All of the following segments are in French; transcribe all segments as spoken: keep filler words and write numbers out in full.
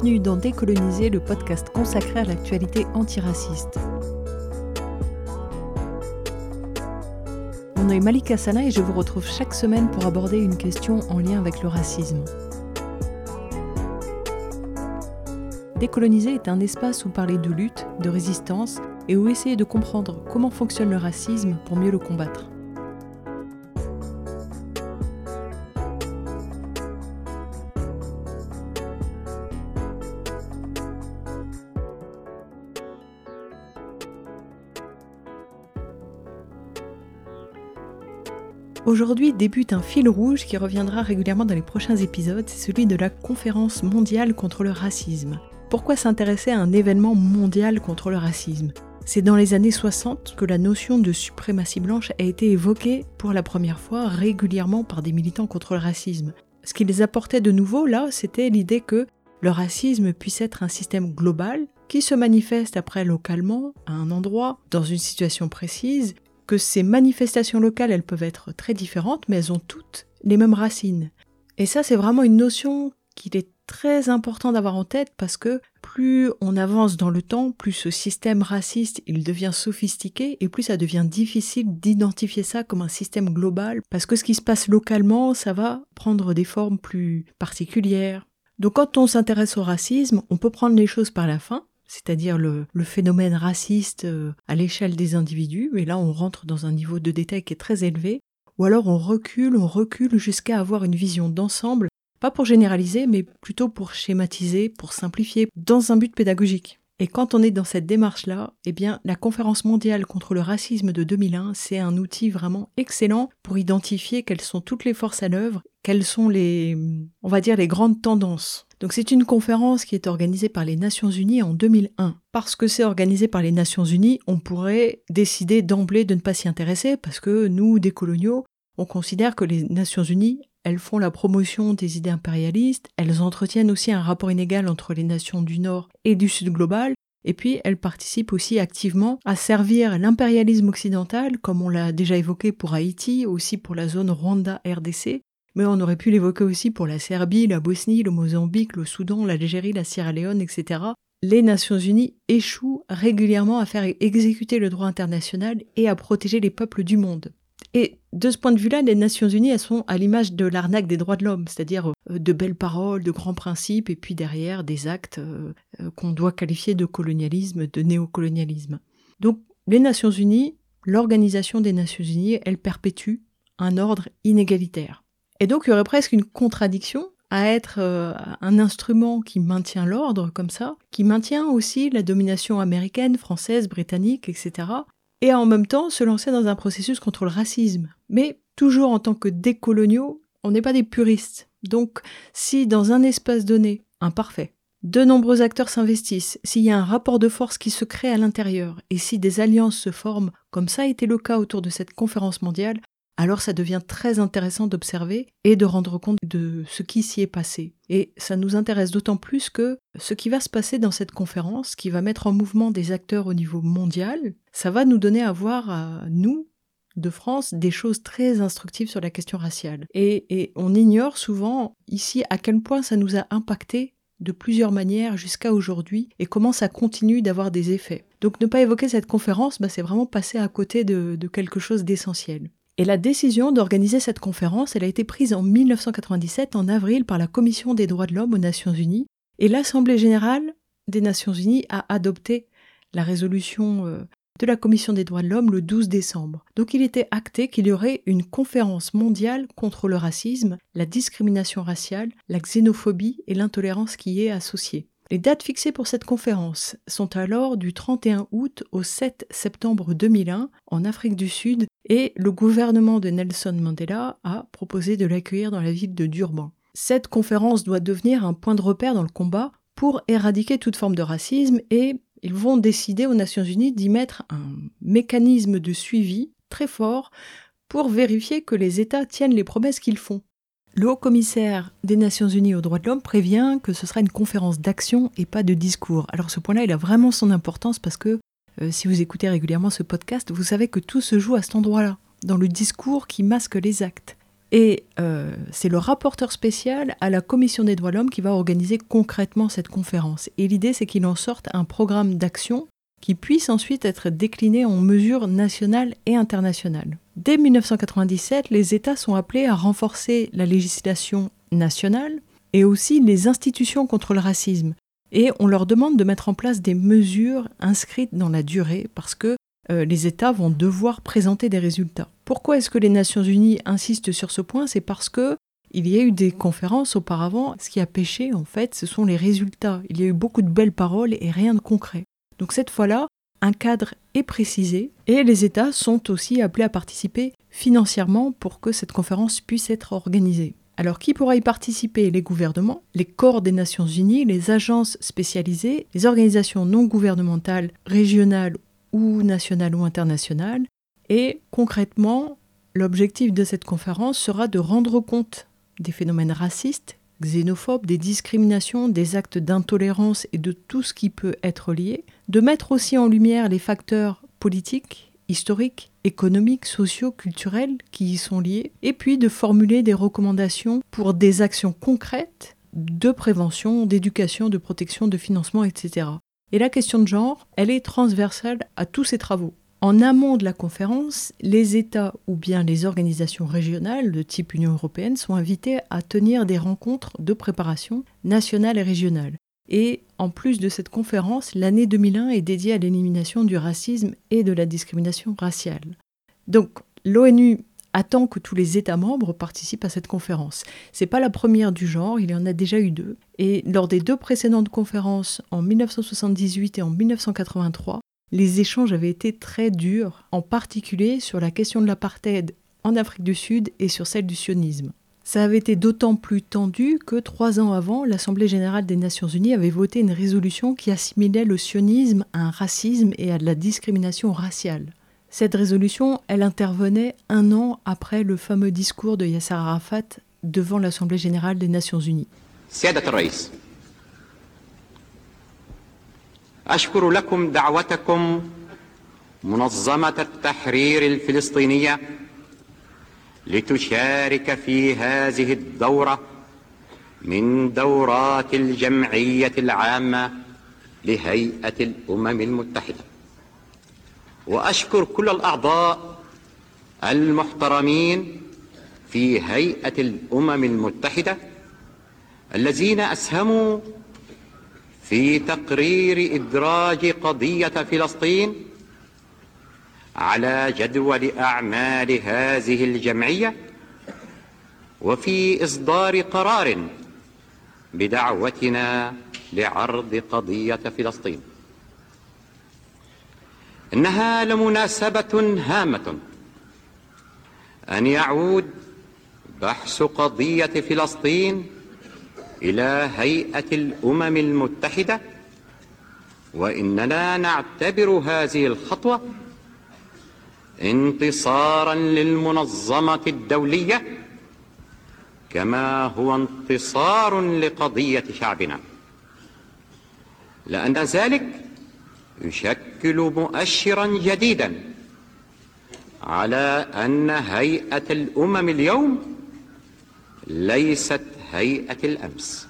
bienvenue dans Décoloniser, le podcast consacré à l'actualité antiraciste. Mon nom est Malika Sana et je vous retrouve chaque semaine pour aborder une question en lien avec le racisme. Décoloniser est un espace où parler de lutte, de résistance et où essayer de comprendre comment fonctionne le racisme pour mieux le combattre. Aujourd'hui débute un fil rouge qui reviendra régulièrement dans les prochains épisodes, c'est celui de la conférence mondiale contre le racisme. Pourquoi s'intéresser à un événement mondial contre le racisme ? C'est dans les années soixante que la notion de suprématie blanche a été évoquée pour la première fois régulièrement par des militants contre le racisme. Ce qui les apportait de nouveau là, c'était l'idée que le racisme puisse être un système global qui se manifeste après localement, à un endroit, dans une situation précise, que ces manifestations locales, elles peuvent être très différentes, mais elles ont toutes les mêmes racines. Et ça, c'est vraiment une notion qu'il est très important d'avoir en tête parce que plus on avance dans le temps, plus ce système raciste, il devient sophistiqué et plus ça devient difficile d'identifier ça comme un système global parce que ce qui se passe localement, ça va prendre des formes plus particulières. Donc quand on s'intéresse au racisme, on peut prendre les choses par la fin, c'est-à-dire le, le phénomène raciste à l'échelle des individus, et là on rentre dans un niveau de détail qui est très élevé, ou alors on recule, on recule jusqu'à avoir une vision d'ensemble, pas pour généraliser, mais plutôt pour schématiser, pour simplifier, dans un but pédagogique. Et quand on est dans cette démarche-là, eh bien, la conférence mondiale contre le racisme de deux mille un, c'est un outil vraiment excellent pour identifier quelles sont toutes les forces à l'œuvre, quelles sont les, on va dire, les grandes tendances. Donc c'est une conférence qui est organisée par les Nations Unies en deux mille un. Parce que c'est organisé par les Nations Unies, on pourrait décider d'emblée de ne pas s'y intéresser parce que nous, décoloniaux, on considère que les Nations Unies, elles font la promotion des idées impérialistes, elles entretiennent aussi un rapport inégal entre les nations du Nord et du Sud global, et puis elles participent aussi activement à servir l'impérialisme occidental, comme on l'a déjà évoqué pour Haïti, aussi pour la zone Rwanda-R D C, mais on aurait pu l'évoquer aussi pour la Serbie, la Bosnie, le Mozambique, le Soudan, l'Algérie, la Sierra Leone, et cetera. Les Nations Unies échouent régulièrement à faire exécuter le droit international et à protéger les peuples du monde. Et de ce point de vue-là, les Nations Unies, elles sont à l'image de l'arnaque des droits de l'homme, c'est-à-dire de belles paroles, de grands principes, et puis derrière des actes euh, qu'on doit qualifier de colonialisme, de néocolonialisme. Donc les Nations Unies, l'organisation des Nations Unies, elle perpétue un ordre inégalitaire. Et donc il y aurait presque une contradiction à être euh, un instrument qui maintient l'ordre comme ça, qui maintient aussi la domination américaine, française, britannique, et cetera, et en même temps se lancer dans un processus contre le racisme. Mais toujours en tant que décoloniaux, on n'est pas des puristes. Donc si dans un espace donné, imparfait, de nombreux acteurs s'investissent, s'il y a un rapport de force qui se crée à l'intérieur, et si des alliances se forment, comme ça a été le cas autour de cette conférence mondiale, alors ça devient très intéressant d'observer et de rendre compte de ce qui s'y est passé. Et ça nous intéresse d'autant plus que ce qui va se passer dans cette conférence, qui va mettre en mouvement des acteurs au niveau mondial, ça va nous donner à voir, à nous, de France, des choses très instructives sur la question raciale. Et, et on ignore souvent ici à quel point ça nous a impacté de plusieurs manières jusqu'à aujourd'hui et comment ça continue d'avoir des effets. Donc ne pas évoquer cette conférence, bah, c'est vraiment passer à côté de, de quelque chose d'essentiel. Et la décision d'organiser cette conférence, elle a été prise en dix-neuf cent quatre-vingt-dix-sept, en avril, par la Commission des droits de l'homme aux Nations Unies. Et l'Assemblée générale des Nations Unies a adopté la résolution euh, de la Commission des droits de l'homme le douze décembre. Donc il était acté qu'il y aurait une conférence mondiale contre le racisme, la discrimination raciale, la xénophobie et l'intolérance qui y est associée. Les dates fixées pour cette conférence sont alors du trente et un août au sept septembre deux mille un en Afrique du Sud et le gouvernement de Nelson Mandela a proposé de l'accueillir dans la ville de Durban. Cette conférence doit devenir un point de repère dans le combat pour éradiquer toute forme de racisme et ils vont décider aux Nations Unies d'y mettre un mécanisme de suivi très fort pour vérifier que les États tiennent les promesses qu'ils font. Le haut-commissaire des Nations Unies aux droits de l'homme prévient que ce sera une conférence d'action et pas de discours. Alors ce point-là, il a vraiment son importance parce que euh, si vous écoutez régulièrement ce podcast, vous savez que tout se joue à cet endroit-là, dans le discours qui masque les actes. Et euh, c'est le rapporteur spécial à la Commission des droits de l'homme qui va organiser concrètement cette conférence. Et l'idée, c'est qu'il en sorte un programme d'action qui puisse ensuite être décliné en mesures nationales et internationales. Dès mille neuf cent quatre-vingt-dix-sept, les États sont appelés à renforcer la législation nationale et aussi les institutions contre le racisme. Et on leur demande de mettre en place des mesures inscrites dans la durée parce que euh, les États vont devoir présenter des résultats. Pourquoi est-ce que les Nations Unies insistent sur ce point ? C'est parce que il y a eu des conférences auparavant. Ce qui a pêché, en fait, ce sont les résultats. Il y a eu beaucoup de belles paroles et rien de concret. Donc cette fois-là, un cadre est précisé et les États sont aussi appelés à participer financièrement pour que cette conférence puisse être organisée. Alors qui pourra y participer ? Les gouvernements, les corps des Nations Unies, les agences spécialisées, les organisations non gouvernementales, régionales ou nationales ou internationales. Et concrètement, l'objectif de cette conférence sera de rendre compte des phénomènes racistes, xénophobes, des discriminations, des actes d'intolérance et de tout ce qui peut être lié, de mettre aussi en lumière les facteurs politiques, historiques, économiques, sociaux, culturels qui y sont liés, et puis de formuler des recommandations pour des actions concrètes de prévention, d'éducation, de protection, de financement, et cetera. Et la question de genre, elle est transversale à tous ces travaux. En amont de la conférence, les États ou bien les organisations régionales de type Union européenne sont invités à tenir des rencontres de préparation nationales et régionales. Et en plus de cette conférence, l'année deux mille un est dédiée à l'élimination du racisme et de la discrimination raciale. Donc l'ONU attend que tous les États membres participent à cette conférence. C'est pas la première du genre, il y en a déjà eu deux. Et lors des deux précédentes conférences, en mille neuf cent soixante-dix-huit et en mille neuf cent quatre-vingt-trois, les échanges avaient été très durs, en particulier sur la question de l'apartheid en Afrique du Sud et sur celle du sionisme. Ça avait été d'autant plus tendu que trois ans avant, l'Assemblée générale des Nations Unies avait voté une résolution qui assimilait le sionisme à un racisme et à de la discrimination raciale. Cette résolution, elle intervenait un an après le fameux discours de Yasser Arafat devant l'Assemblée générale des Nations Unies. سيادة الرئيس، أشكر لكم دعوتكم منظمة التحرير الفلسطينية لتشارك في هذه الدورة من دورات الجمعية العامة لهيئة الأمم المتحدة، وأشكر كل الأعضاء المحترمين في هيئة الأمم المتحدة الذين أسهموا في تقرير إدراج قضية فلسطين على جدول أعمال هذه الجمعية وفي إصدار قرار بدعوتنا لعرض قضية فلسطين. إنها لمناسبة هامة أن يعود بحث قضية فلسطين إلى هيئة الأمم المتحدة، وإننا نعتبر هذه الخطوة انتصارا للمنظمة الدولية كما هو انتصار لقضية شعبنا، لأن ذلك يشكل مؤشرا جديدا على أن هيئة الأمم اليوم ليست هيئة الأمس،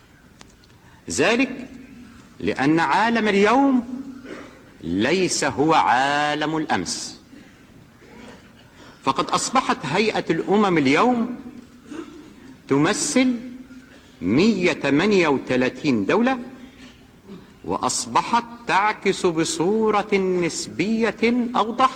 ذلك لأن عالم اليوم ليس هو عالم الأمس، فقد أصبحت هيئة الأمم اليوم تمثل مئة وثمانية وثلاثين دولة، وأصبحت تعكس بصورة نسبية أوضح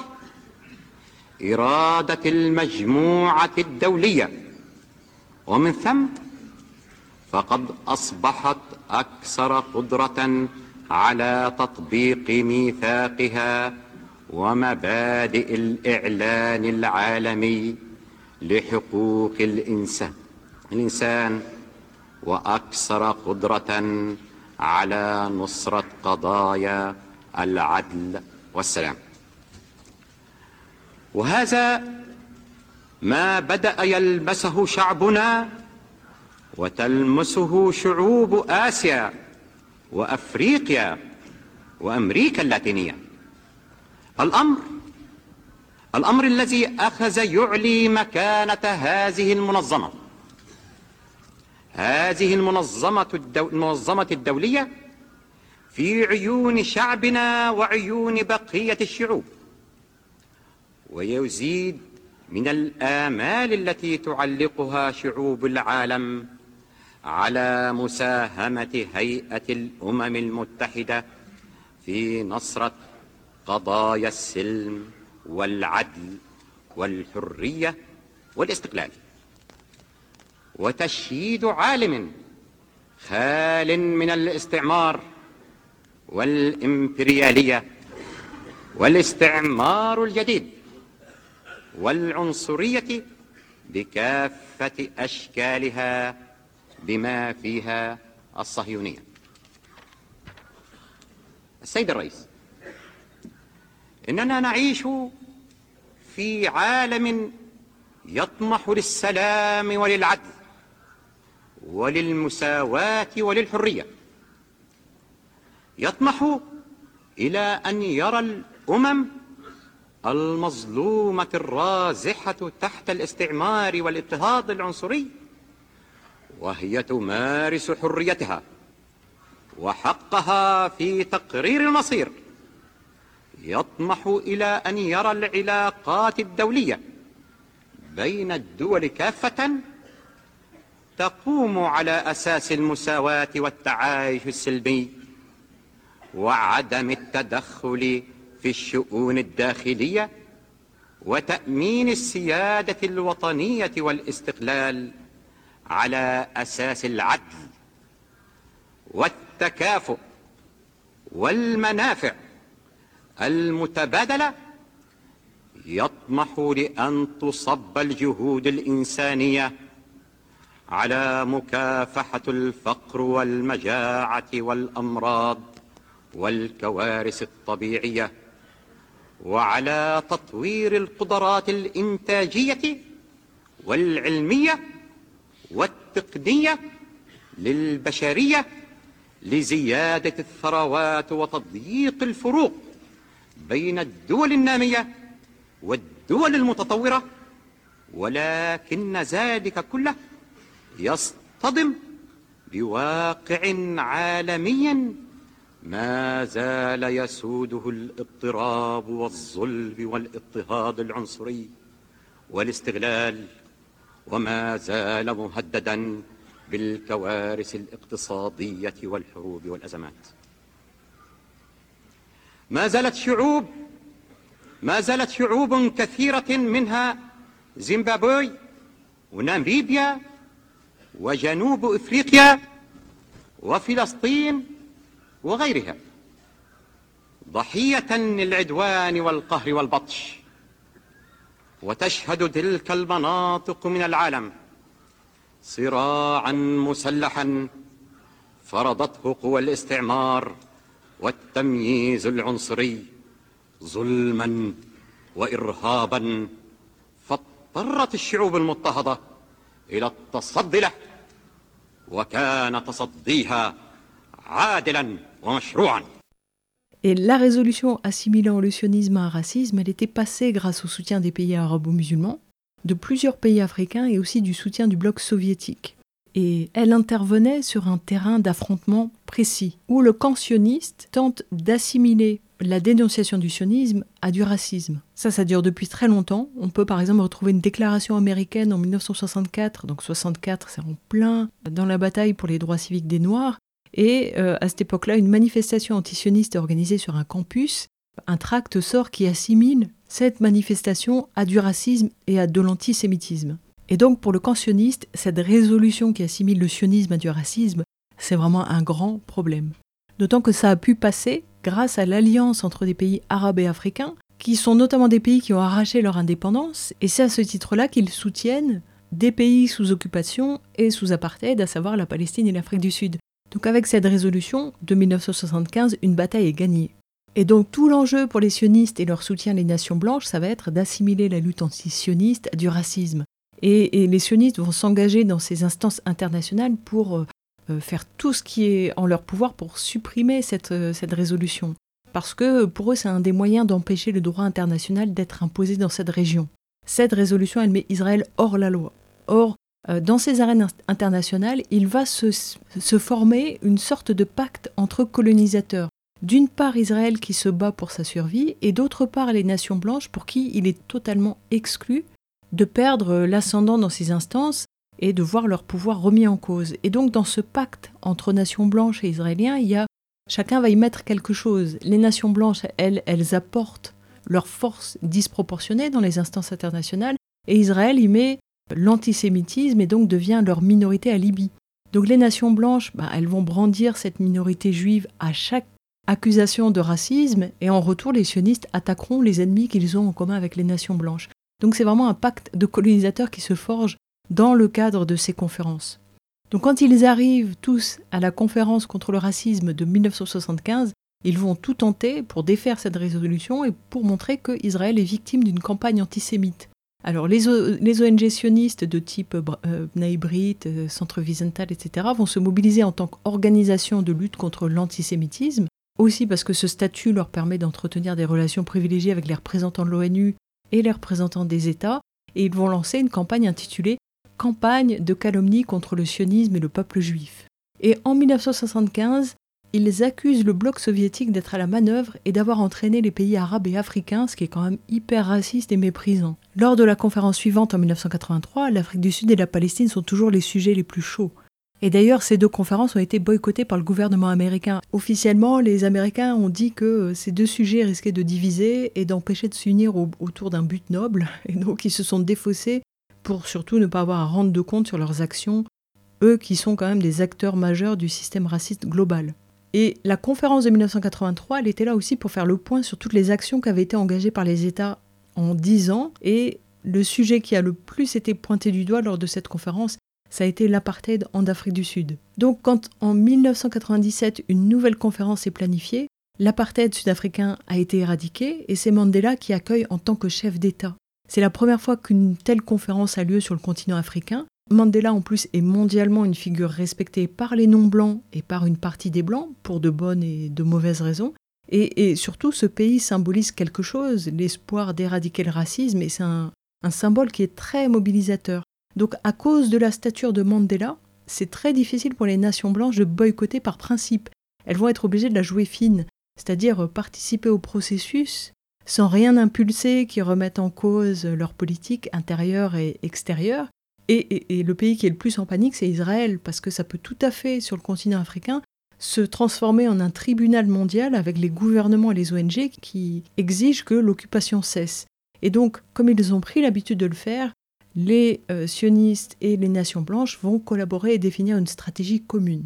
إرادة المجموعة الدولية، ومن ثم فقد أصبحت أكثر قدرة على تطبيق ميثاقها ومبادئ الإعلان العالمي لحقوق الإنسان الإنسان وأكثر قدرة على نصرة قضايا العدل والسلام. وهذا ما بدأ يلمسه شعبنا وتلمسه شعوب آسيا وأفريقيا وأمريكا اللاتينية. الأمر الأمر الذي أخذ يعلي مكانة هذه المنظمة هذه المنظمة, الدو... المنظمة الدولية في عيون شعبنا وعيون بقية الشعوب، ويزيد من الآمال التي تعلقها شعوب العالم على مساهمة هيئة الأمم المتحدة في نصرة قضايا السلم والعدل والحرية والاستقلال، وتشييد عالم خال من الاستعمار والإمبريالية والاستعمار الجديد والعنصرية بكافة أشكالها بما فيها الصهيونية. السيد الرئيس، إننا نعيش في عالم يطمح للسلام وللعدل وللمساواة وللحرية، يطمح إلى أن يرى الأمم المظلومة الرازحة تحت الاستعمار والاضطهاد العنصري وهي تمارس حريتها وحقها في تقرير المصير، يطمح إلى أن يرى العلاقات الدولية بين الدول كافة تقوم على أساس المساواة والتعايش السلمي وعدم التدخل في الشؤون الداخلية وتأمين السيادة الوطنية والاستقلال على أساس العدل والتكافؤ والمنافع المتبادلة، يطمح لأن تصب الجهود الإنسانية على مكافحة الفقر والمجاعة والأمراض والكوارث الطبيعية، وعلى تطوير القدرات الإنتاجية والعلمية والتقنية للبشرية لزيادة الثروات وتضييق الفروق بين الدول النامية والدول المتطورة، ولكن ذلك كله يصطدم بواقع عالمي ما زال يسوده الاضطراب والظلم والاضطهاد العنصري والاستغلال، وما زال مهددا بالكوارث الاقتصادية والحروب والأزمات. ما زالت شعوب ما زالت شعوب كثيرة منها زيمبابوي وناميبيا وجنوب إفريقيا وفلسطين وغيرها ضحية للعدوان والقهر والبطش، وتشهد تلك المناطق من العالم صراعا مسلحا فرضته قوى الاستعمار والتمييز العنصري ظلما وإرهابا، فاضطرت الشعوب المضطهدة إلى التصدي له، وكان تصديها عادلا ومشروعا. Et la résolution assimilant le sionisme à un racisme, elle était passée grâce au soutien des pays arabo-musulmans, de plusieurs pays africains et aussi du soutien du bloc soviétique. Et elle intervenait sur un terrain d'affrontement précis, où le camp sioniste tente d'assimiler la dénonciation du sionisme à du racisme. Ça, ça dure depuis très longtemps. On peut par exemple retrouver une déclaration américaine en mille neuf cent soixante-quatre, donc soixante-quatre, c'est en plein dans la bataille pour les droits civiques des Noirs, et euh, à cette époque-là, une manifestation antisioniste est organisée sur un campus. Un tract sort qui assimile cette manifestation à du racisme et à de l'antisémitisme. Et donc pour le camp sioniste, cette résolution qui assimile le sionisme à du racisme, c'est vraiment un grand problème. D'autant que ça a pu passer grâce à l'alliance entre des pays arabes et africains, qui sont notamment des pays qui ont arraché leur indépendance, et c'est à ce titre-là qu'ils soutiennent des pays sous occupation et sous apartheid, à savoir la Palestine et l'Afrique du Sud. Donc avec cette résolution de mille neuf cent soixante-quinze, une bataille est gagnée. Et donc tout l'enjeu pour les sionistes et leur soutien des nations blanches, ça va être d'assimiler la lutte anti-sioniste à du racisme. Et, et les sionistes vont s'engager dans ces instances internationales pour euh, faire tout ce qui est en leur pouvoir pour supprimer cette, euh, cette résolution. parce que pour eux, c'est un des moyens d'empêcher le droit international d'être imposé dans cette région. Cette résolution, elle met Israël hors la loi. Or, euh, dans ces arènes internationales, il va se, se former une sorte de pacte entre colonisateurs. D'une part, Israël qui se bat pour sa survie, et d'autre part, les nations blanches pour qui il est totalement exclu de perdre l'ascendant dans ces instances et de voir leur pouvoir remis en cause. Et donc, dans ce pacte entre nations blanches et israéliens, il y a, chacun va y mettre quelque chose. Les nations blanches, elles, elles apportent leur force disproportionnée dans les instances internationales, et Israël y met l'antisémitisme et donc devient leur minorité alibi. Donc les nations blanches, bah, elles vont brandir cette minorité juive à chaque accusation de racisme, et en retour, les sionistes attaqueront les ennemis qu'ils ont en commun avec les nations blanches. Donc c'est vraiment un pacte de colonisateurs qui se forge dans le cadre de ces conférences. Donc quand ils arrivent tous à la conférence contre le racisme de mille neuf cent soixante-quinze, ils vont tout tenter pour défaire cette résolution et pour montrer qu'Israël est victime d'une campagne antisémite. Alors les, o- les O N G sionistes de type euh, Bnei Brit, euh, Centre Wiesenthal, et cetera vont se mobiliser en tant qu'organisation de lutte contre l'antisémitisme, aussi parce que ce statut leur permet d'entretenir des relations privilégiées avec les représentants de l'ONU et les représentants des États, et ils vont lancer une campagne intitulée « Campagne de calomnie contre le sionisme et le peuple juif ». Et en mille neuf cent soixante-quinze, ils accusent le bloc soviétique d'être à la manœuvre et d'avoir entraîné les pays arabes et africains, ce qui est quand même hyper raciste et méprisant. Lors de la conférence suivante en mille neuf cent quatre-vingt-trois, l'Afrique du Sud et la Palestine sont toujours les sujets les plus chauds. Et d'ailleurs, ces deux conférences ont été boycottées par le gouvernement américain. Officiellement, les Américains ont dit que ces deux sujets risquaient de diviser et d'empêcher de s'unir au- autour d'un but noble. Et donc, ils se sont défaussés pour surtout ne pas avoir à rendre de compte sur leurs actions, eux qui sont quand même des acteurs majeurs du système raciste global. Et la conférence de mille neuf cent quatre-vingt-trois, elle était là aussi pour faire le point sur toutes les actions qui avaient été engagées par les États en dix ans. Et le sujet qui a le plus été pointé du doigt lors de cette conférence, ça a été l'apartheid en Afrique du Sud. Donc quand en mille neuf cent quatre-vingt-dix-sept, une nouvelle conférence est planifiée, l'apartheid sud-africain a été éradiqué et c'est Mandela qui accueille en tant que chef d'État. C'est la première fois qu'une telle conférence a lieu sur le continent africain. Mandela en plus est mondialement une figure respectée par les non-blancs et par une partie des blancs, pour de bonnes et de mauvaises raisons. Et, et surtout, ce pays symbolise quelque chose, l'espoir d'éradiquer le racisme, et c'est un, un symbole qui est très mobilisateur. Donc à cause de la stature de Mandela, c'est très difficile pour les nations blanches de boycotter par principe. Elles vont être obligées de la jouer fine, c'est-à-dire participer au processus sans rien impulser qui remette en cause leur politique intérieure et extérieure. Et, et, et le pays qui est le plus en panique, c'est Israël, parce que ça peut tout à fait, sur le continent africain, se transformer en un tribunal mondial avec les gouvernements et les O N G qui exigent que l'occupation cesse. Et donc, comme ils ont pris l'habitude de le faire, les euh, sionistes et les nations blanches vont collaborer et définir une stratégie commune.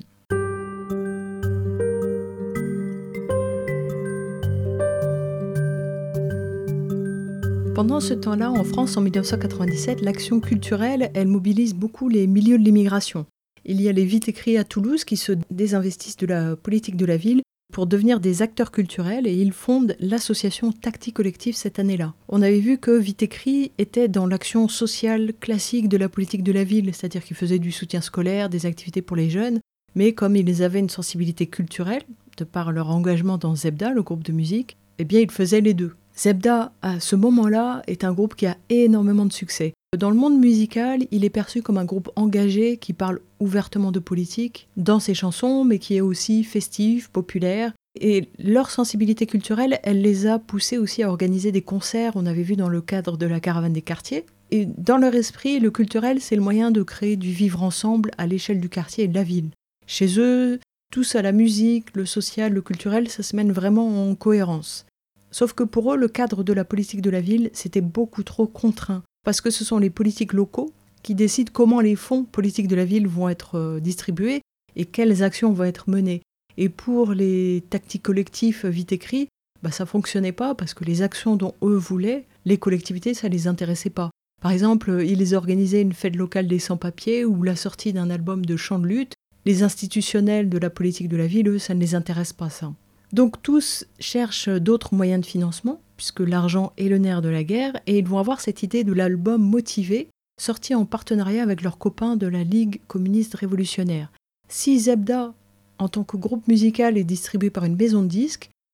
Pendant ce temps-là, en France, en mille neuf cent quatre-vingt-dix-sept, l'action culturelle, elle mobilise beaucoup les milieux de l'immigration. Il y a les Vite Écrits à Toulouse qui se désinvestissent de la politique de la ville pour devenir des acteurs culturels et ils fondent l'association Tactique Collective cette année-là. On avait vu que Vite Écrit était dans l'action sociale classique de la politique de la ville, c'est-à-dire qu'ils faisaient du soutien scolaire, des activités pour les jeunes, mais comme ils avaient une sensibilité culturelle, de par leur engagement dans Zebda, le groupe de musique, eh bien ils faisaient les deux. Zebda, à ce moment-là, est un groupe qui a énormément de succès. Dans le monde musical, il est perçu comme un groupe engagé qui parle ouvertement de politique dans ses chansons, mais qui est aussi festif, populaire. Et leur sensibilité culturelle, elle les a poussés aussi à organiser des concerts, on avait vu dans le cadre de la Caravane des quartiers. Et dans leur esprit, le culturel, c'est le moyen de créer du vivre ensemble à l'échelle du quartier et de la ville. Chez eux, tout ça, la musique, le social, le culturel, ça se mène vraiment en cohérence. Sauf que pour eux, le cadre de la politique de la ville, c'était beaucoup trop contraint. Parce que ce sont les politiques locaux qui décident comment les fonds politiques de la ville vont être distribués et quelles actions vont être menées. Et pour les tactiques collectifs Vite Écrits, bah ça ne fonctionnait pas parce que les actions dont eux voulaient, les collectivités, ça ne les intéressait pas. Par exemple, ils organisaient une fête locale des sans-papiers ou la sortie d'un album de chants de lutte. Les institutionnels de la politique de la ville, eux, ça ne les intéresse pas, ça. Donc tous cherchent d'autres moyens de financement, puisque l'argent est le nerf de la guerre, et ils vont avoir cette idée de l'album Motivé, sorti en partenariat avec leurs copains de la Ligue communiste révolutionnaire. Si Zebda, en tant que groupe musical, est distribué par une maison de disques,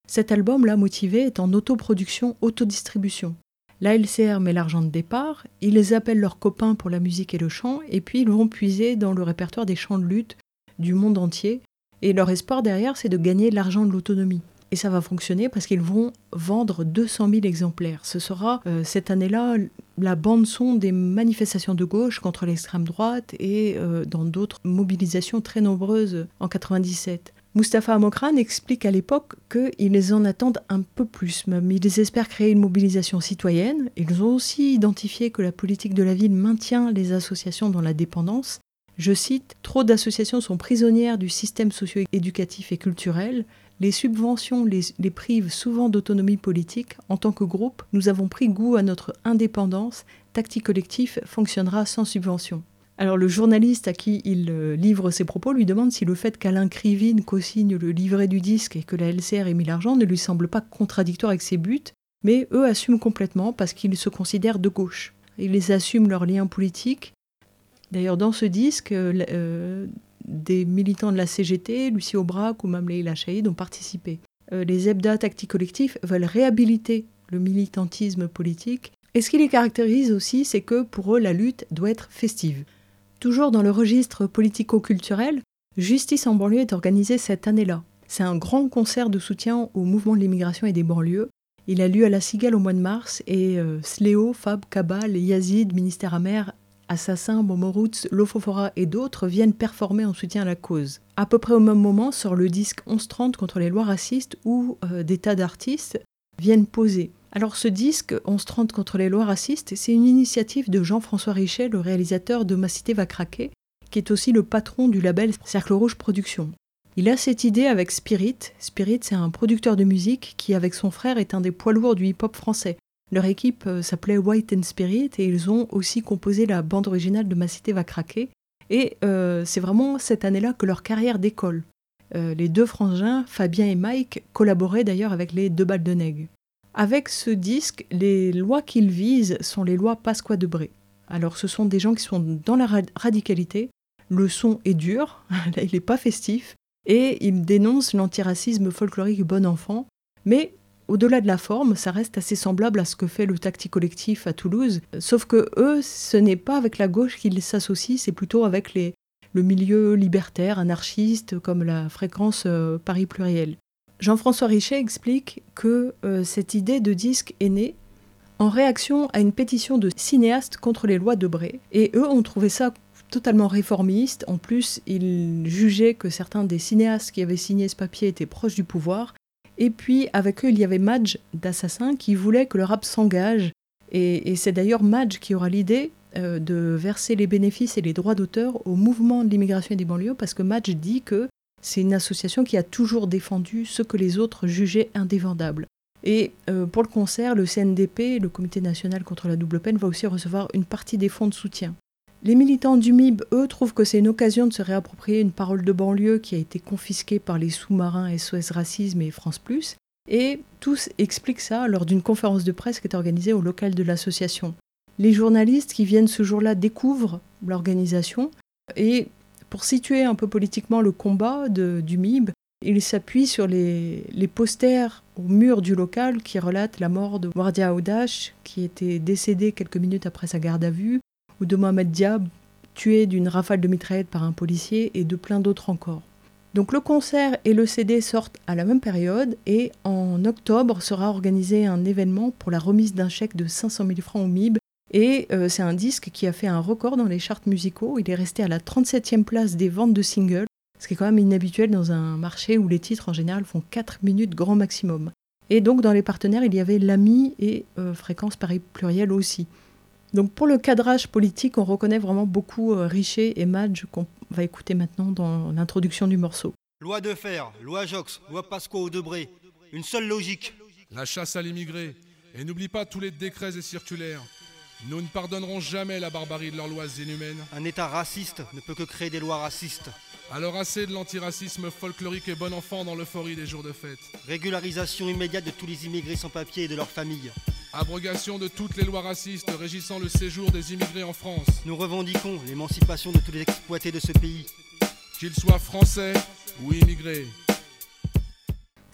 Cet album, là, motivé, est en autoproduction, autodistribution. La L C R met l'argent de départ, ils appellent leurs copains pour la musique et le chant, et puis ils vont puiser dans le répertoire des chants de lutte du monde entier. Et leur espoir derrière, c'est de gagner l'argent de l'autonomie. Et ça va fonctionner parce qu'ils vont vendre deux cent mille exemplaires. Ce sera euh, cette année-là la bande-son des manifestations de gauche contre l'extrême droite et euh, dans d'autres mobilisations très nombreuses en quatre-vingt-dix-sept. Mustapha Amokran explique à l'époque qu'ils en attendent un peu plus même. Ils espèrent créer une mobilisation citoyenne. Ils ont aussi identifié que la politique de la ville maintient les associations dans la dépendance. Je cite, « Trop d'associations sont prisonnières du système socio-éducatif et culturel. Les subventions les, les privent souvent d'autonomie politique. En tant que groupe, nous avons pris goût à notre indépendance. Tactique Collectif fonctionnera sans subvention. » Alors le journaliste à qui il euh, livre ses propos lui demande si le fait qu'Alain Krivine co-signe le livret du disque et que la L C R ait mis l'argent ne lui semble pas contradictoire avec ses buts, mais eux assument complètement parce qu'ils se considèrent de gauche. Ils assument leurs liens politiques. D'ailleurs dans ce disque, euh, euh, des militants de la C G T, Lucie Aubrac ou même Leïla Chaïd ont participé. Euh, les Ebda Tactique Collectif veulent réhabiliter le militantisme politique. Et ce qui les caractérise aussi, c'est que pour eux, la lutte doit être festive. Toujours dans le registre politico-culturel, Justice en banlieue est organisé cette année-là. C'est un grand concert de soutien au mouvement de l'immigration et des banlieues. Il a lieu à La Cigale au mois de mars et euh, Sléo, Fab, Kabal, Yazid, Ministère Amer, Assassin, Momoroots, Lofofora et d'autres viennent performer en soutien à la cause. À peu près au même moment sort le disque onze trente contre les lois racistes où euh, des tas d'artistes viennent poser. Alors ce disque, onze trente contre les lois racistes, c'est une initiative de Jean-François Richet, le réalisateur de Ma cité va craquer, qui est aussi le patron du label Cercle Rouge Productions. Il a cette idée avec Spirit. Spirit, c'est un producteur de musique qui, avec son frère, est un des poids lourds du hip-hop français. Leur équipe euh, s'appelait White and Spirit et ils ont aussi composé la bande originale de Ma cité va craquer. Et euh, c'est vraiment cette année-là que leur carrière décolle. Euh, les deux frangins, Fabien et Mike, collaboraient d'ailleurs avec les Deux Balles de Nègre. Avec ce disque, les lois qu'ils visent sont les lois Pasqua-Debré. Alors ce sont des gens qui sont dans la radicalité, le son est dur, là il n'est pas festif, et ils dénoncent l'antiracisme folklorique bon enfant, mais au-delà de la forme, ça reste assez semblable à ce que fait le Tactique Collectif à Toulouse, sauf que eux, ce n'est pas avec la gauche qu'ils s'associent, c'est plutôt avec les, le milieu libertaire, anarchiste, comme la fréquence euh, Paris Pluriel. Jean-François Richet explique que euh, cette idée de disque est née en réaction à une pétition de cinéastes contre les lois Debré. Et eux ont trouvé ça totalement réformiste. En plus, ils jugeaient que certains des cinéastes qui avaient signé ce papier étaient proches du pouvoir. Et puis, avec eux, il y avait Madj d'Assassin qui voulait que le rap s'engage. Et, et c'est d'ailleurs Madj qui aura l'idée euh, de verser les bénéfices et les droits d'auteur au mouvement de l'immigration et des banlieues, parce que Madj dit que c'est une association qui a toujours défendu ce que les autres jugeaient indéfendable. Et euh, pour le concert, le C N D P, le Comité national contre la double peine, va aussi recevoir une partie des fonds de soutien. Les militants du M I B, eux, trouvent que c'est une occasion de se réapproprier une parole de banlieue qui a été confisquée par les sous-marins S O S Racisme et France Plus. Et tous expliquent ça lors d'une conférence de presse qui est organisée au local de l'association. Les journalistes qui viennent ce jour-là découvrent l'organisation et pour situer un peu politiquement le combat de, du M I B, il s'appuie sur les, les posters au mur du local qui relatent la mort de Wardia Audache, qui était décédé quelques minutes après sa garde à vue, ou de Mohamed Diab, tué d'une rafale de mitraillette par un policier, et de plein d'autres encore. Donc le concert et le C D sortent à la même période, et en octobre sera organisé un événement pour la remise d'un chèque de cinq cent mille francs au M I B. Et euh, c'est un disque qui a fait un record dans les charts musicaux. Il est resté à la trente-septième place des ventes de singles, ce qui est quand même inhabituel dans un marché où les titres en général font quatre minutes grand maximum. Et donc dans les partenaires, il y avait l'A M I et euh, Fréquence Paris Pluriel aussi. Donc pour le cadrage politique, on reconnaît vraiment beaucoup euh, Richet et Madj qu'on va écouter maintenant dans l'introduction du morceau. Loi de fer, loi Jox, loi Pasqua-Debré, une seule logique. La chasse à l'immigré. Et n'oublie pas tous les décrets et circulaires. Nous ne pardonnerons jamais la barbarie de leurs lois inhumaines. Un État raciste ne peut que créer des lois racistes. Alors assez de l'antiracisme folklorique et bon enfant dans l'euphorie des jours de fête. Régularisation immédiate de tous les immigrés sans papier et de leurs familles. Abrogation de toutes les lois racistes régissant le séjour des immigrés en France. Nous revendiquons l'émancipation de tous les exploités de ce pays. Qu'ils soient français ou immigrés.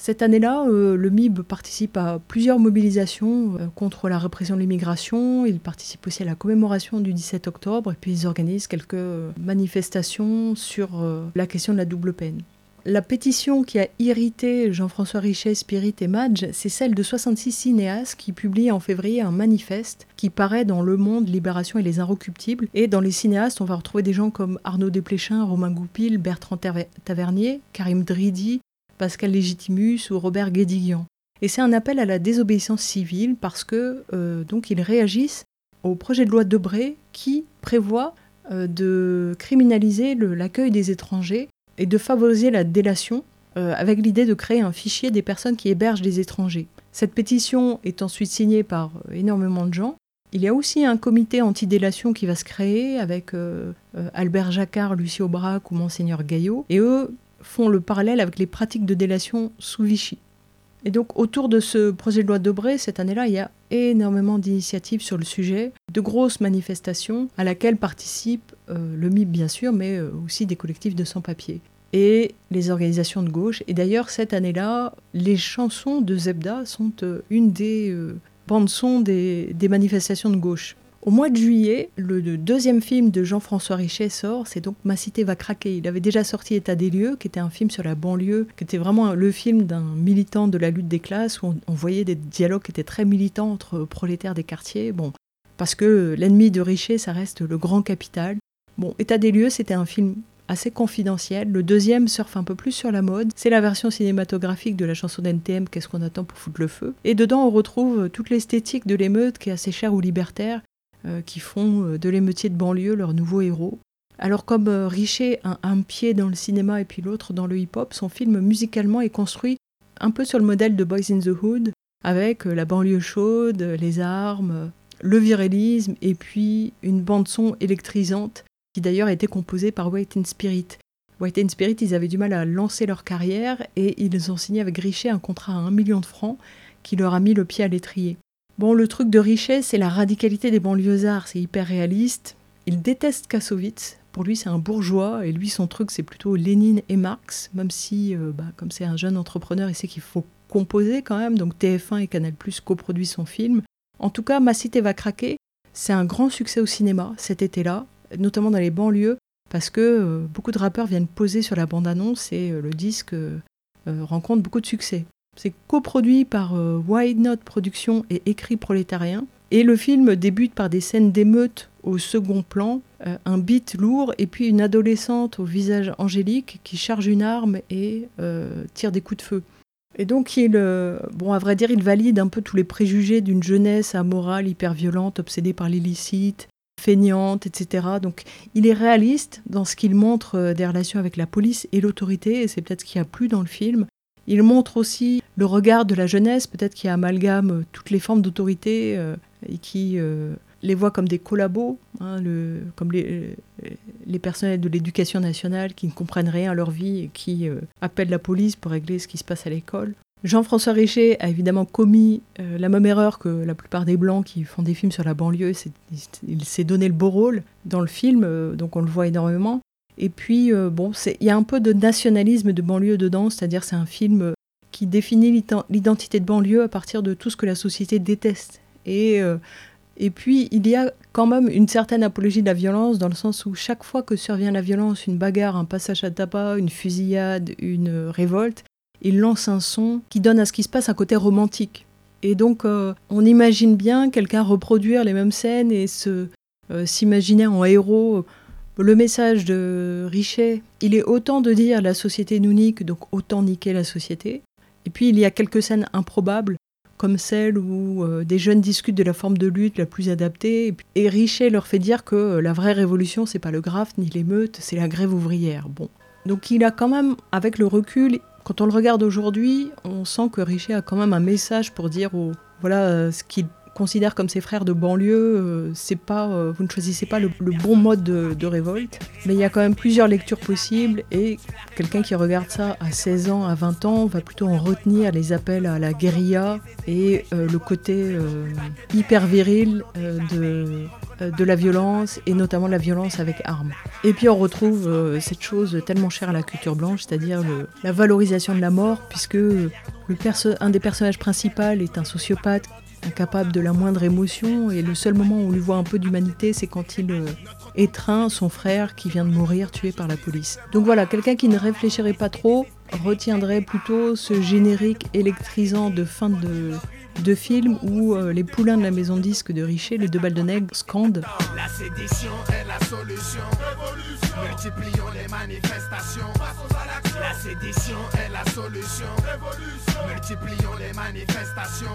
Cette année-là, euh, le M I B participe à plusieurs mobilisations euh, contre la répression de l'immigration. Il participe aussi à la commémoration du dix-sept octobre et puis ils organisent quelques manifestations sur euh, la question de la double peine. La pétition qui a irrité Jean-François Richet, Spirit et Madge, c'est celle de soixante-six cinéastes qui publient en février un manifeste qui paraît dans Le Monde, Libération et Les Inrecuptibles. Et dans les cinéastes, on va retrouver des gens comme Arnaud Desplechin, Romain Goupil, Bertrand Tavernier, Karim Dridi, Pascal Légitimus ou Robert Guédiguian. Et c'est un appel à la désobéissance civile parce que euh, donc ils réagissent au projet de loi Debré qui prévoit euh, de criminaliser le, l'accueil des étrangers et de favoriser la délation euh, avec l'idée de créer un fichier des personnes qui hébergent des étrangers. Cette pétition est ensuite signée par euh, énormément de gens. Il y a aussi un comité anti-délation qui va se créer avec euh, euh, Albert Jacquard, Lucie Aubrac ou Monseigneur Gaillot. Et eux font le parallèle avec les pratiques de délation sous Vichy. Et donc autour de ce projet de loi Debré, cette année-là, il y a énormément d'initiatives sur le sujet, de grosses manifestations à laquelle participent euh, le M I B bien sûr, mais euh, aussi des collectifs de sans-papiers et les organisations de gauche. Et d'ailleurs, cette année-là, les chansons de Zebda sont euh, une des euh, bandes-son des, des manifestations de gauche. Au mois de juillet, le, le deuxième film de Jean-François Richet sort, c'est donc Ma cité va craquer. Il avait déjà sorti État des lieux, qui était un film sur la banlieue, qui était vraiment le film d'un militant de la lutte des classes, où on, on voyait des dialogues qui étaient très militants entre prolétaires des quartiers. Bon, parce que l'ennemi de Richet, ça reste le grand capital. Bon, État des lieux, c'était un film assez confidentiel. Le deuxième surfe un peu plus sur la mode. C'est la version cinématographique de la chanson d'N T M, Qu'est-ce qu'on attend pour foutre le feu. Et dedans, on retrouve toute l'esthétique de l'émeute qui est assez chère aux libertaires, euh, qui font euh, de l'émeutier de banlieue leur nouveau héros. Alors comme euh, Richet a un pied dans le cinéma et puis l'autre dans le hip-hop, son film musicalement est construit un peu sur le modèle de Boys in the Hood, avec euh, la banlieue chaude, les armes, euh, le virilisme et puis une bande-son électrisante qui d'ailleurs a été composée par White and Spirit. White and Spirit, ils avaient du mal à lancer leur carrière et ils ont signé avec Richet un contrat à un million de francs qui leur a mis le pied à l'étrier. Bon, le truc de Richet, c'est la radicalité des banlieusards, c'est hyper réaliste. Il déteste Kassovitz. Pour lui, c'est un bourgeois, et lui, son truc, c'est plutôt Lénine et Marx, même si, euh, bah, comme c'est un jeune entrepreneur, il sait qu'il faut composer quand même, donc T F un et Canal plus coproduisent son film. En tout cas, Ma cité va craquer, c'est un grand succès au cinéma cet été-là, notamment dans les banlieues, parce que euh, beaucoup de rappeurs viennent poser sur la bande-annonce, et euh, le disque euh, euh, rencontre beaucoup de succès. C'est coproduit par euh, Why Not Productions et Écrit Prolétarien, et le film débute par des scènes d'émeute au second plan, euh, un beat lourd et puis une adolescente au visage angélique qui charge une arme et euh, tire des coups de feu. Et donc, il, euh, bon, à vrai dire, il valide un peu tous les préjugés d'une jeunesse amorale, hyper violente, obsédée par l'illicite, feignante, et cetera. Donc, il est réaliste dans ce qu'il montre euh, des relations avec la police et l'autorité, et c'est peut-être ce qu'il y a plus dans le film. Il montre aussi le regard de la jeunesse, peut-être qui amalgame euh, toutes les formes d'autorité euh, et qui euh, les voit comme des collabos, hein, le, comme les, les personnels de l'éducation nationale qui ne comprennent rien à leur vie et qui euh, appellent la police pour régler ce qui se passe à l'école. Jean-François Richet a évidemment commis euh, la même erreur que la plupart des Blancs qui font des films sur la banlieue. C'est, il s'est donné le beau rôle dans le film, euh, donc on le voit énormément. Et puis, euh, bon, il y a un peu de nationalisme de banlieue dedans, c'est-à-dire c'est un film qui définit l'identité de banlieue à partir de tout ce que la société déteste. Et, euh, et puis, il y a quand même une certaine apologie de la violence, dans le sens où chaque fois que survient la violence, une bagarre, un passage à tabac, une fusillade, une révolte, il lance un son qui donne à ce qui se passe un côté romantique. Et donc, euh, on imagine bien quelqu'un reproduire les mêmes scènes et se, euh, s'imaginer en héros. Le message de Richet, il est autant de dire la société nous nique, donc autant niquer la société. Et puis il y a quelques scènes improbables, comme celle où euh, des jeunes discutent de la forme de lutte la plus adaptée. Et, puis, et Richet leur fait dire que euh, la vraie révolution, c'est pas le graft ni l'émeute, c'est la grève ouvrière. Bon. Donc il a quand même, avec le recul, quand on le regarde aujourd'hui, on sent que Richet a quand même un message pour dire aux, voilà, euh, ce qu'il considère comme ses frères de banlieue, euh, c'est pas, euh, vous ne choisissez pas le, le bon mode de, de révolte. Mais il y a quand même plusieurs lectures possibles et quelqu'un qui regarde ça à seize ans, à vingt ans, va plutôt en retenir les appels à la guérilla et euh, le côté euh, hyper viril euh, de, euh, de la violence et notamment la violence avec armes. Et puis on retrouve euh, cette chose tellement chère à la culture blanche, c'est-à-dire le, la valorisation de la mort, puisque le perso- un des personnages principaux est un sociopathe incapable de la moindre émotion, et le seul moment où on lui voit un peu d'humanité, c'est quand il euh, étreint son frère qui vient de mourir tué par la police. Donc voilà, quelqu'un qui ne réfléchirait pas trop retiendrait plutôt ce générique électrisant de fin de, de film où euh, les poulains de la maison de disques de Richer, les deux balles de nègre, scandent. La sédition est la solution. Révolution. Multiplions les manifestations. La sédition est la solution. Révolution. Multiplions les manifestations.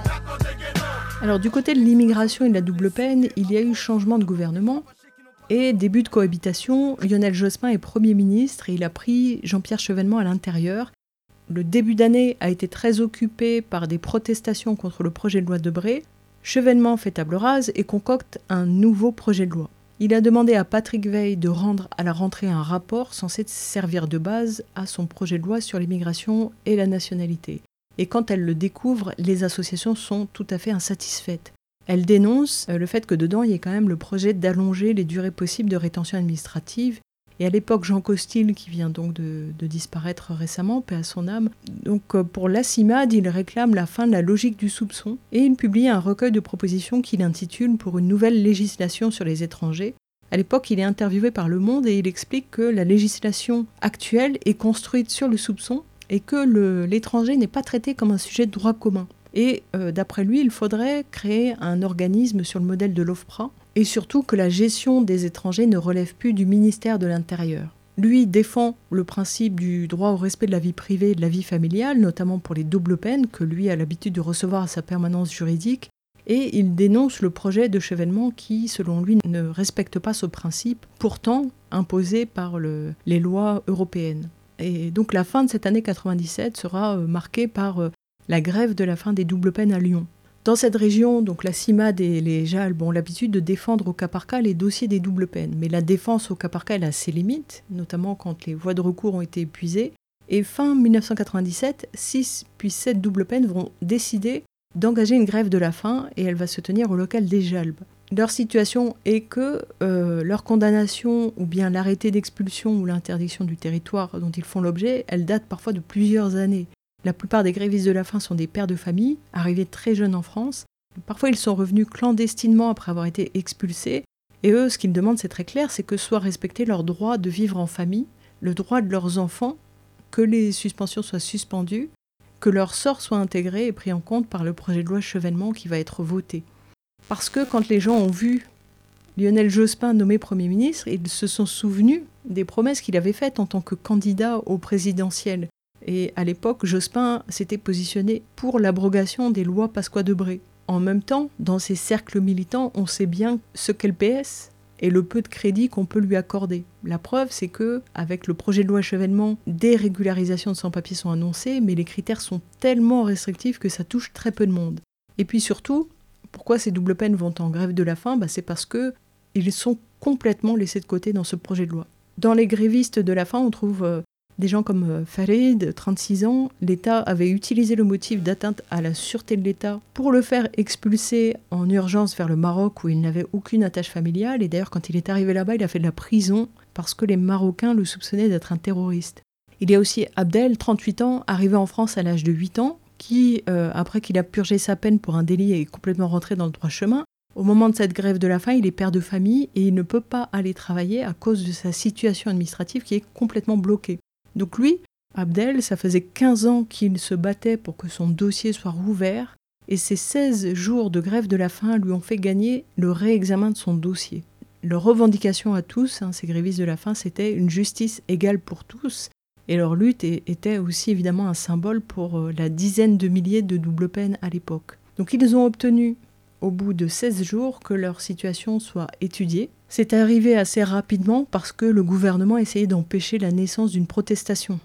Alors du côté de l'immigration et de la double peine, il y a eu changement de gouvernement et début de cohabitation. Lionel Jospin est Premier ministre et il a pris Jean-Pierre Chevènement à l'intérieur. Le début d'année a été très occupé par des protestations contre le projet de loi Debré. Chevènement fait table rase et concocte un nouveau projet de loi. Il a demandé à Patrick Weil de rendre à la rentrée un rapport censé servir de base à son projet de loi sur l'immigration et la nationalité. Et quand elles le découvrent, les associations sont tout à fait insatisfaites. Elles dénoncent le fait que dedans, il y ait quand même le projet d'allonger les durées possibles de rétention administrative. Et à l'époque, Jean Costil, qui vient donc de, de disparaître récemment, paix à son âme, donc pour la CIMAD, il réclame la fin de la logique du soupçon et il publie un recueil de propositions qu'il intitule « Pour une nouvelle législation sur les étrangers ». À l'époque, il est interviewé par Le Monde et il explique que la législation actuelle est construite sur le soupçon et que le, l'étranger n'est pas traité comme un sujet de droit commun. Et euh, d'après lui, il faudrait créer un organisme sur le modèle de l'OFPRA, et surtout que la gestion des étrangers ne relève plus du ministère de l'Intérieur. Lui défend le principe du droit au respect de la vie privée et de la vie familiale, notamment pour les doubles peines que lui a l'habitude de recevoir à sa permanence juridique, et il dénonce le projet de Chevènement qui, selon lui, ne respecte pas ce principe, pourtant imposé par le, les lois européennes. Et donc la fin de cette année quatre-vingt-dix-sept sera euh, marquée par euh, la grève de la fin des doubles peines à Lyon. Dans cette région, donc la CIMAD et les J A L B ont l'habitude de défendre au cas par cas les dossiers des doubles peines. Mais la défense au cas par cas, elle a ses limites, notamment quand les voies de recours ont été épuisées. Et fin dix-neuf cent quatre-vingt-dix-sept, six puis sept doubles peines vont décider d'engager une grève de la faim et elle va se tenir au local des J A L B. Leur situation est que euh, leur condamnation ou bien l'arrêté d'expulsion ou l'interdiction du territoire dont ils font l'objet, elle date parfois de plusieurs années. La plupart des grévistes de la faim sont des pères de famille, arrivés très jeunes en France. Parfois, ils sont revenus clandestinement après avoir été expulsés. Et eux, ce qu'ils demandent, c'est très clair, c'est que soit respecté leur droit de vivre en famille, le droit de leurs enfants, que les suspensions soient suspendues, que leur sort soit intégré et pris en compte par le projet de loi Chevènement qui va être voté. Parce que quand les gens ont vu Lionel Jospin nommé Premier ministre, ils se sont souvenus des promesses qu'il avait faites en tant que candidat au présidentiel. Et à l'époque, Jospin s'était positionné pour l'abrogation des lois Pasqua-Debré. En même temps, dans ces cercles militants, on sait bien ce qu'est le P S et le peu de crédit qu'on peut lui accorder. La preuve, c'est que, avec le projet de loi Chevènement, des régularisations de sans-papiers sont annoncées, mais les critères sont tellement restrictifs que ça touche très peu de monde. Et puis surtout, pourquoi ces doubles peines vont en grève de la faim ? Bah, c'est parce qu'ils sont complètement laissés de côté dans ce projet de loi. Dans les grévistes de la faim, on trouve euh, des gens comme Farid, trente-six ans. L'État avait utilisé le motif d'atteinte à la sûreté de l'État pour le faire expulser en urgence vers le Maroc où il n'avait aucune attache familiale. Et d'ailleurs, quand il est arrivé là-bas, il a fait de la prison parce que les Marocains le soupçonnaient d'être un terroriste. Il y a aussi Abdel, trente-huit ans, arrivé en France à l'âge de huit ans, qui, euh, après qu'il a purgé sa peine pour un délit, est complètement rentré dans le droit chemin. Au moment de cette grève de la faim, il est père de famille et il ne peut pas aller travailler à cause de sa situation administrative qui est complètement bloquée. Donc lui, Abdel, ça faisait quinze ans qu'il se battait pour que son dossier soit rouvert et ces seize jours de grève de la faim lui ont fait gagner le réexamen de son dossier. Leur revendication à tous, hein, ces grévistes de la faim, c'était une justice égale pour tous et leur lutte était aussi évidemment un symbole pour la dizaine de milliers de doubles peines à l'époque. Donc ils ont obtenu au bout de seize jours que leur situation soit étudiée. C'est arrivé assez rapidement parce que le gouvernement essayait d'empêcher la naissance d'une protestation.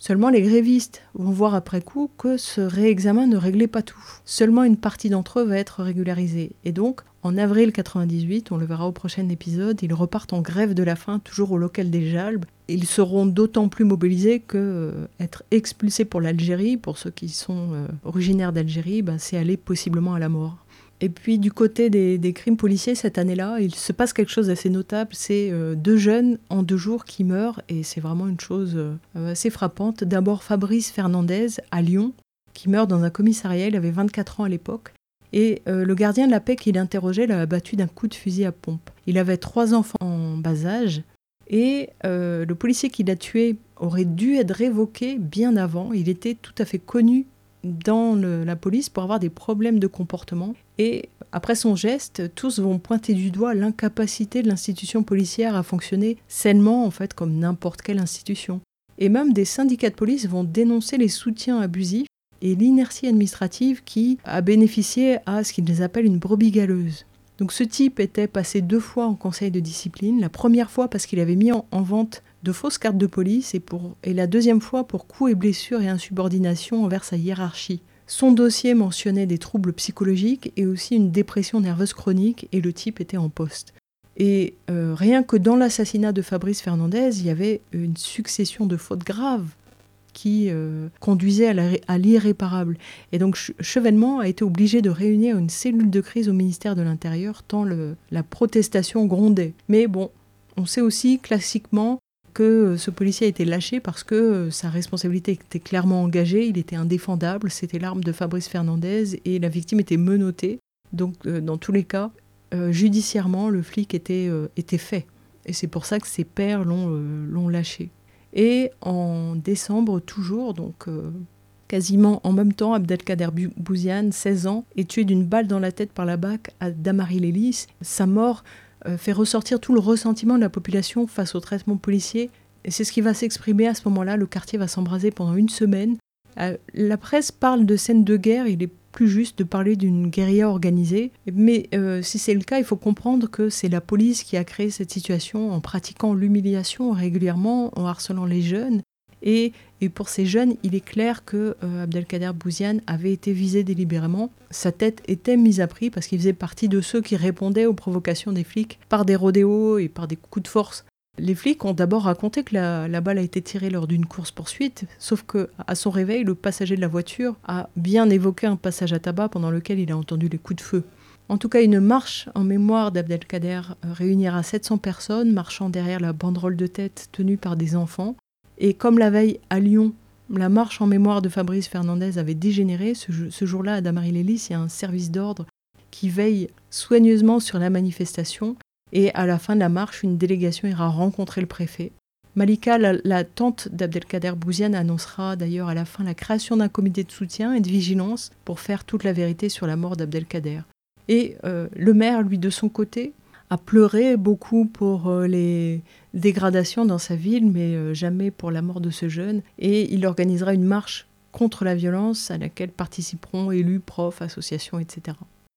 Seulement les grévistes vont voir après coup que ce réexamen ne réglait pas tout. Seulement une partie d'entre eux va être régularisée. Et donc, en avril quatre-vingt-dix-huit, on le verra au prochain épisode, ils repartent en grève de la faim, toujours au local des Jalbes. Ils seront d'autant plus mobilisés que euh, être expulsés pour l'Algérie, pour ceux qui sont euh, originaires d'Algérie, ben, c'est aller possiblement à la mort. Et puis du côté des, des crimes policiers, cette année-là, il se passe quelque chose d'assez notable. C'est euh, deux jeunes en deux jours qui meurent, et c'est vraiment une chose euh, assez frappante. D'abord Fabrice Fernandez, à Lyon, qui meurt dans un commissariat, il avait vingt-quatre ans à l'époque. Et euh, le gardien de la paix qui l'interrogeait l'a abattu d'un coup de fusil à pompe. Il avait trois enfants en bas âge, et euh, le policier qui l'a tué aurait dû être révoqué bien avant. Il était tout à fait connu dans le, la police pour avoir des problèmes de comportement. Et après son geste, tous vont pointer du doigt l'incapacité de l'institution policière à fonctionner sainement, en fait, comme n'importe quelle institution. Et même des syndicats de police vont dénoncer les soutiens abusifs et l'inertie administrative qui a bénéficié à ce qu'ils appellent une brebis galeuse. Donc ce type était passé deux fois en conseil de discipline, la première fois parce qu'il avait mis en, en vente de fausses cartes de police et, pour, et la deuxième fois pour coups et blessures et insubordination envers sa hiérarchie. Son dossier mentionnait des troubles psychologiques et aussi une dépression nerveuse chronique, et le type était en poste. Et euh, rien que dans l'assassinat de Fabrice Fernandez, il y avait une succession de fautes graves qui euh, conduisait à, la, à l'irréparable. Et donc Chevènement a été obligé de réunir une cellule de crise au ministère de l'Intérieur tant le, la protestation grondait. Mais bon, on sait aussi classiquement que ce policier a été lâché parce que sa responsabilité était clairement engagée, il était indéfendable, c'était l'arme de Fabrice Fernandez et la victime était menottée. Donc euh, dans tous les cas, euh, judiciairement, le flic était, euh, était fait. Et c'est pour ça que ses pairs l'ont, euh, l'ont lâché. Et en décembre toujours, donc euh, quasiment en même temps, Abdelkader Bouziane, seize ans, est tué d'une balle dans la tête par la B A C à Damary-les-Lys. Sa mort euh, fait ressortir tout le ressentiment de la population face au traitement policier. Et c'est ce qui va s'exprimer à ce moment-là. Le quartier va s'embraser pendant une semaine. Euh, la presse parle de scènes de guerre, il est plus juste de parler d'une guérilla organisée. Mais euh, si c'est le cas, il faut comprendre que c'est la police qui a créé cette situation en pratiquant l'humiliation régulièrement, en harcelant les jeunes. Et, et pour ces jeunes, il est clair que euh, Abdelkader Bouziane avait été visé délibérément. Sa tête était mise à prix parce qu'il faisait partie de ceux qui répondaient aux provocations des flics par des rodéos et par des coups de force. Les flics ont d'abord raconté que la, la balle a été tirée lors d'une course-poursuite, sauf qu'à son réveil, le passager de la voiture a bien évoqué un passage à tabac pendant lequel il a entendu les coups de feu. En tout cas, une marche en mémoire d'Abdelkader réunira sept cents personnes marchant derrière la banderole de tête tenue par des enfants. Et comme la veille à Lyon, la marche en mémoire de Fabrice Fernandez avait dégénéré, ce, ce jour-là à Damary-les-Lys, il y a un service d'ordre qui veille soigneusement sur la manifestation. Et à la fin de la marche, une délégation ira rencontrer le préfet. Malika, la, la tante d'Abdelkader Bouziane, annoncera d'ailleurs à la fin la création d'un comité de soutien et de vigilance pour faire toute la vérité sur la mort d'Abdelkader. Et euh, le maire, lui, de son côté, a pleuré beaucoup pour euh, les dégradations dans sa ville, mais euh, jamais pour la mort de ce jeune. Et il organisera une marche contre la violence à laquelle participeront élus, profs, associations, et cetera.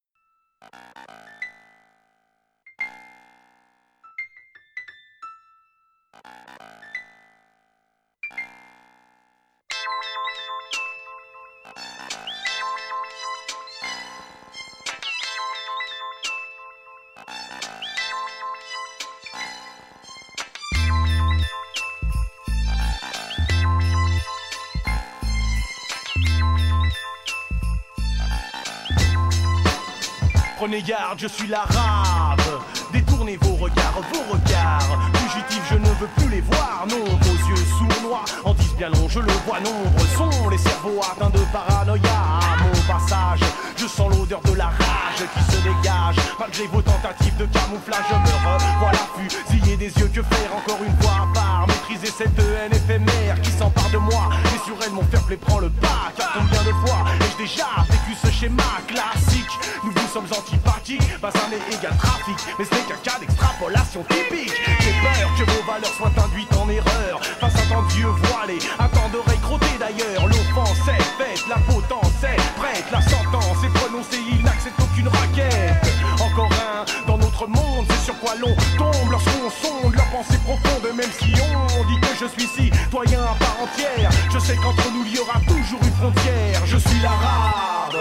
Prenez garde, je suis l'arabe. Détournez vos regards, vos regards. Fugitifs, je ne veux plus les voir. Non, vos yeux sournois en disent bien long, je le vois. Nombreux sont les cerveaux atteints de paranoïa. À mon passage, je sens l'odeur de la rage qui se dégage. Malgré vos tentatives de camouflage, je me revoilà fusillé des yeux. Que faire encore une fois à part? Maîtriser cette haine éphémère qui s'empare de moi. Et sur elle, mon fair play prend le pas. Car combien de fois ai-je déjà vécu ce schéma classique? Nous vous sommes antipathiques, pas un et égal trafic. Mais ce n'est qu'un cas d'extrapolation typique. J'ai peur que vos valeurs soient induites en erreur face à tant d'yeux voilés, à tant d'oreilles crottées d'ailleurs. L'offense est faite, la potence est prête, la sentence est prononcée, il n'accepte aucune raquette. Encore un dans notre monde, c'est sur quoi l'on tombe lorsqu'on sonde leur pensée profonde. Même si on dit que je suis citoyen à part entière. Je sais qu'entre nous il y aura toujours une frontière. Je suis l'arabe.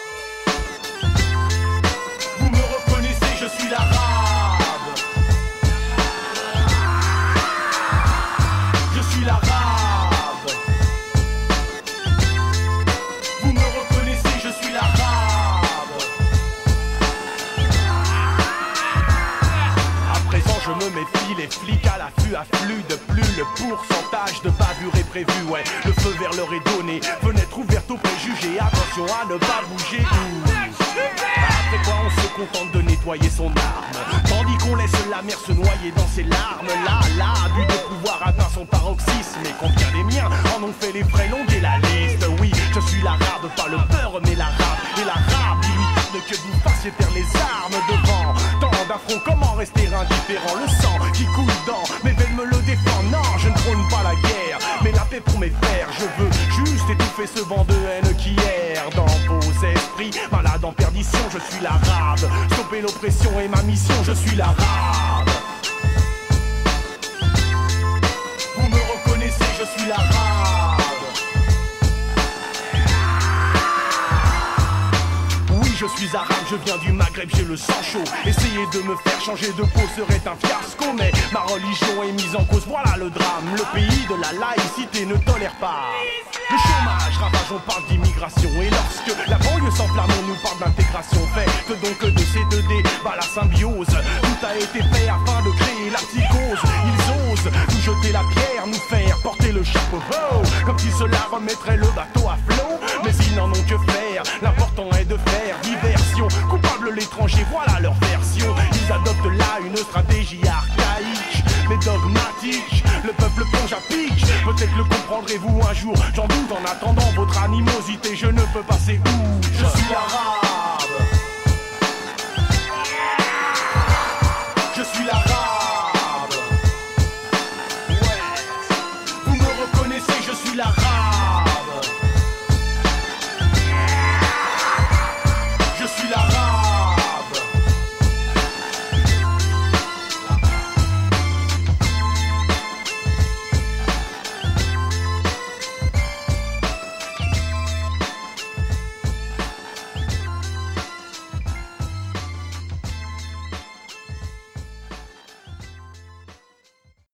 Vous me reconnaissez, je suis l'arabe. Je suis l'arabe. Vous me reconnaissez, je suis l'arabe. À présent je me méfie, les flics à l'affût affluent de plus. Le pourcentage de bavure est prévu, ouais. Le feu vert leur est donné. Fenêtre ouverte aux préjugés. Attention à ne pas bouger. Après quoi on se contente de nettoyer son arme, tandis qu'on laisse la mer se noyer dans ses larmes. Là, là, abus de pouvoir atteint son paroxysme. Et combien des miens en ont fait les frais, longuer la liste. Oui, je suis l'arabe, pas le beurre mais l'arabe. Et l'arabe, il lui tarde que vous fassiez taire les armes devant tant d'affronts, comment rester indifférent? Le sang qui coule dans mes veines me le défend. Non, je ne prône pas la guerre, mais la paix pour mes frères. Je veux juste étouffer ce vent de haine qui erre dans vos esprits. Malade en perdition, je suis l'arabe. Stopper l'oppression est ma mission, je suis l'arabe. Vous me reconnaissez, je suis l'arabe. Oui, je suis arabe, je viens du Maghreb, j'ai le sang chaud. Essayer de me faire changer de peau serait un fiasco, mais ma religion est mise en cause, voilà le drame. Le pays de la laïcité ne tolère pas le chômage, ravage, on parle d'immigration. Et lorsque la banlieue s'enflamme, on nous parle d'intégration. Faites donc de C deux D, bah la symbiose. Tout a été fait afin de créer la psychose. Ils osent nous jeter la pierre, nous faire porter le chapeau, oh, comme si cela remettrait le bateau à flot. Mais ils n'en ont que faire, l'important est de faire diversion. Coupable l'étranger, voilà leur version. Ils adoptent là une stratégie archaïque mais dogmatique. Le peuple plonge à pic, peut-être le comprendrez-vous un jour. J'en doute, en attendant votre animosité, je ne peux passer où. Je suis l'arabe. Je suis l'arabe.